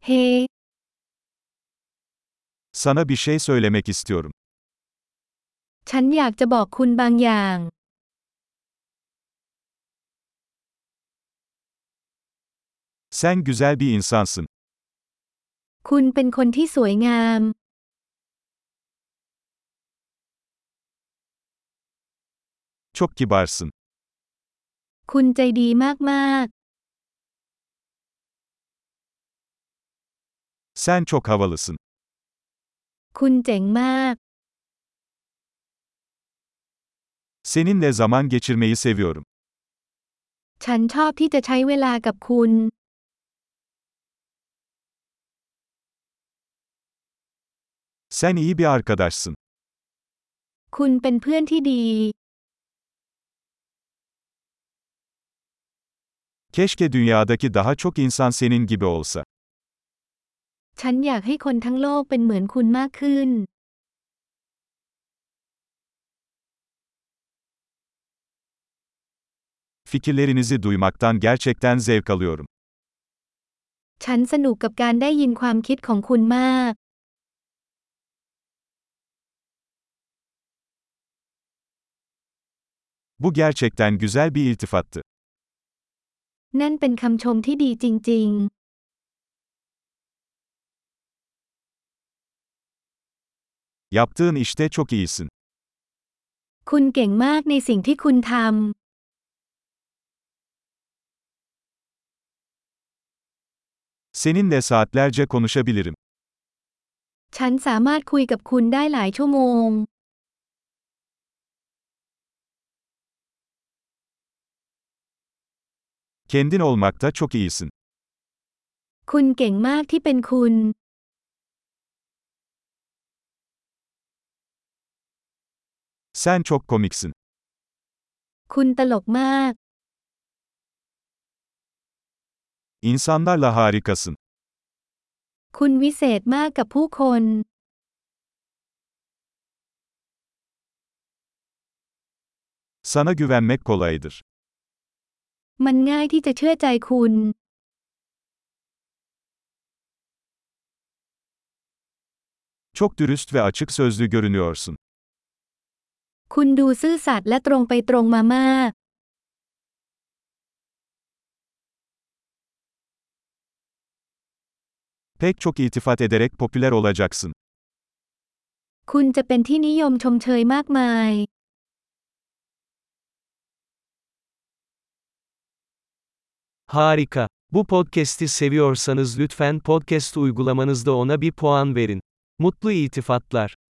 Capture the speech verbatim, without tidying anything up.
Hey, Sana bir şey söylemek istiyorum. ฉันอยากจะบอกคุณบางอย่าง Sen güzel bir insansın. คุณเป็นคนที่สวยงาม Çok kibarsın. คุณใจดีมาก Sen çok havalısın. ๆ คุณเจ๋งมาก Seninle zaman geçirmeyi seviyorum. ฉันชอบที่จะใช้เวลากับคุณ Sen iyi bir arkadaşsın. คุณเป็นเพื่อนที่ดี Keşke dünyadaki daha çok insan senin gibi olsa. ฉันอยากให้คนทั้งโลกเป็นเหมือนคุณมากขึ้น Fikirlerinizi duymaktan gerçekten zevk alıyorum. ฉันสนุกกับการได้ยินความคิดของคุณมาก Bu gerçekten güzel bir iltifattı. นั่นเป็นคำชมที่ดีจริง Yaptığın işte çok iyisin. ๆ คุณเก่งมากในสิ่งที่คุณท Seninle saatlerce konuşabilirim. ำ ฉันสามารถคุยกับคุณได้หลายชั่วโมง Kendin olmakta çok iyisin. คุณเก่งมากที่เป็นคุณ Sen çok komiksin. คุณตลกมาก İnsanlarla harikasın. คุณวิเศษมากกับผู้คน Sana güvenmek kolaydır. มันง่ายที่จะเชื่อใจคุณ Çok dürüst ve açık sözlü görünüyorsun. คุณดูซื่อสัตย์และตรงไปตรงมามาก Pek çok iltifat ederek popüler olacaksın. คุณจะเป็นที่นิยมชมเชยมากมาย Harika. Bu podcast'i seviyorsanız lütfen podcast uygulamanızda ona bir puan verin. Mutlu iltifatlar.